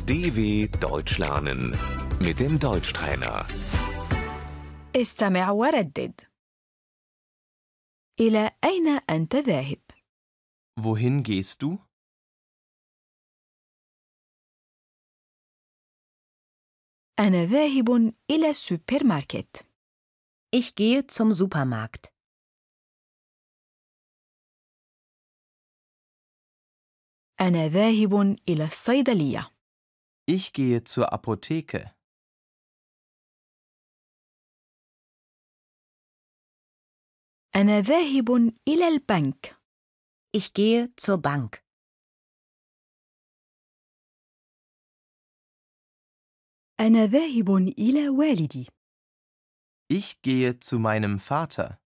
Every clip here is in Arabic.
DW Deutsch lernen mit dem Deutschtrainer. استمع وردد. إلى أين أنت ذاهب؟ Wohin gehst du? أنا ذاهب إلى السوبر ماركت. Ich gehe zum Supermarkt. أنا ذاهب إلى الصيدلية. Ich gehe zur Apotheke. أنا ذاهب إلى البنك. Ich gehe zur Bank. أنا ذاهب إلى والدي. Ich gehe zu meinem Vater.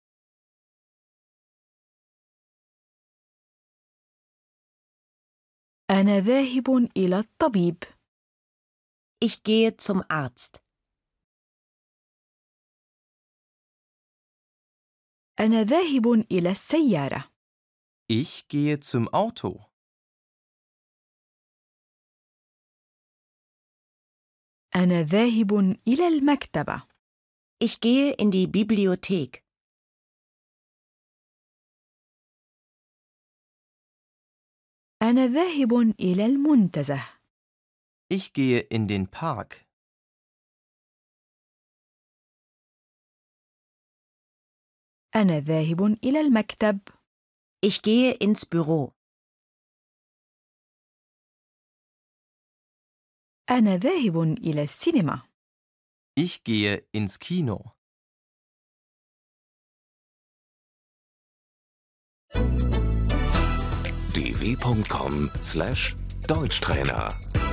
أنا ذاهب إلى الطبيب. Ich gehe zum Arzt. أنا ذاهب إلى السيارة. Ich gehe zum Auto. أنا ذاهب إلى المكتبة. Ich gehe in die Bibliothek. أنا ذاهب إلى المنتزه. Ich gehe in den Park. أنا ذاهب إلى المكتب. Ich gehe ins Büro. أنا ذاهب إلى السينما. Ich gehe ins Kino. dw.com/Deutschtrainer